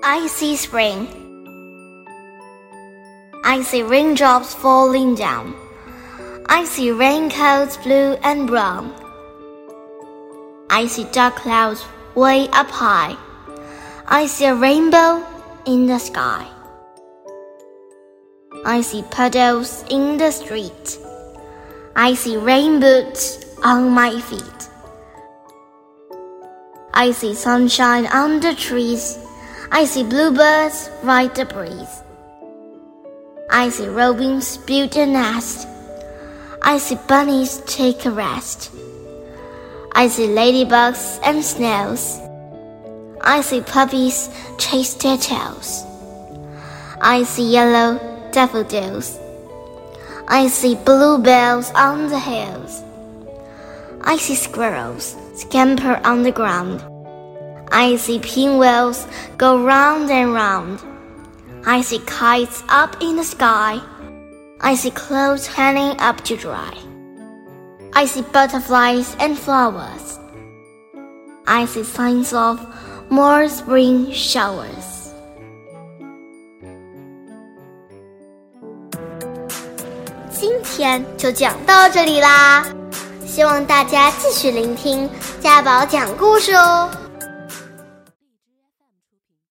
I see spring. I see raindrops falling down. I see raincoats blue and brown. I see dark clouds way up high. I see a rainbow in the sky. I see puddles in the street. I see rain boots on my feet. I see sunshine on the trees. I see bluebirds ride the breeze. I see robins build a nest. I see bunnies take a rest. I see ladybugs and snails. I see puppies chase their tails. I see yellow daffodils. I see bluebells on the hills. I see squirrels scamper on the ground. I see pinwheels go round and round. I see kites up in the sky. I see clothes hanging up to dry. I see butterflies and flowers. I see signs of more spring showers. 今天就讲到这里啦，希望大家继续聆听家宝讲故事哦。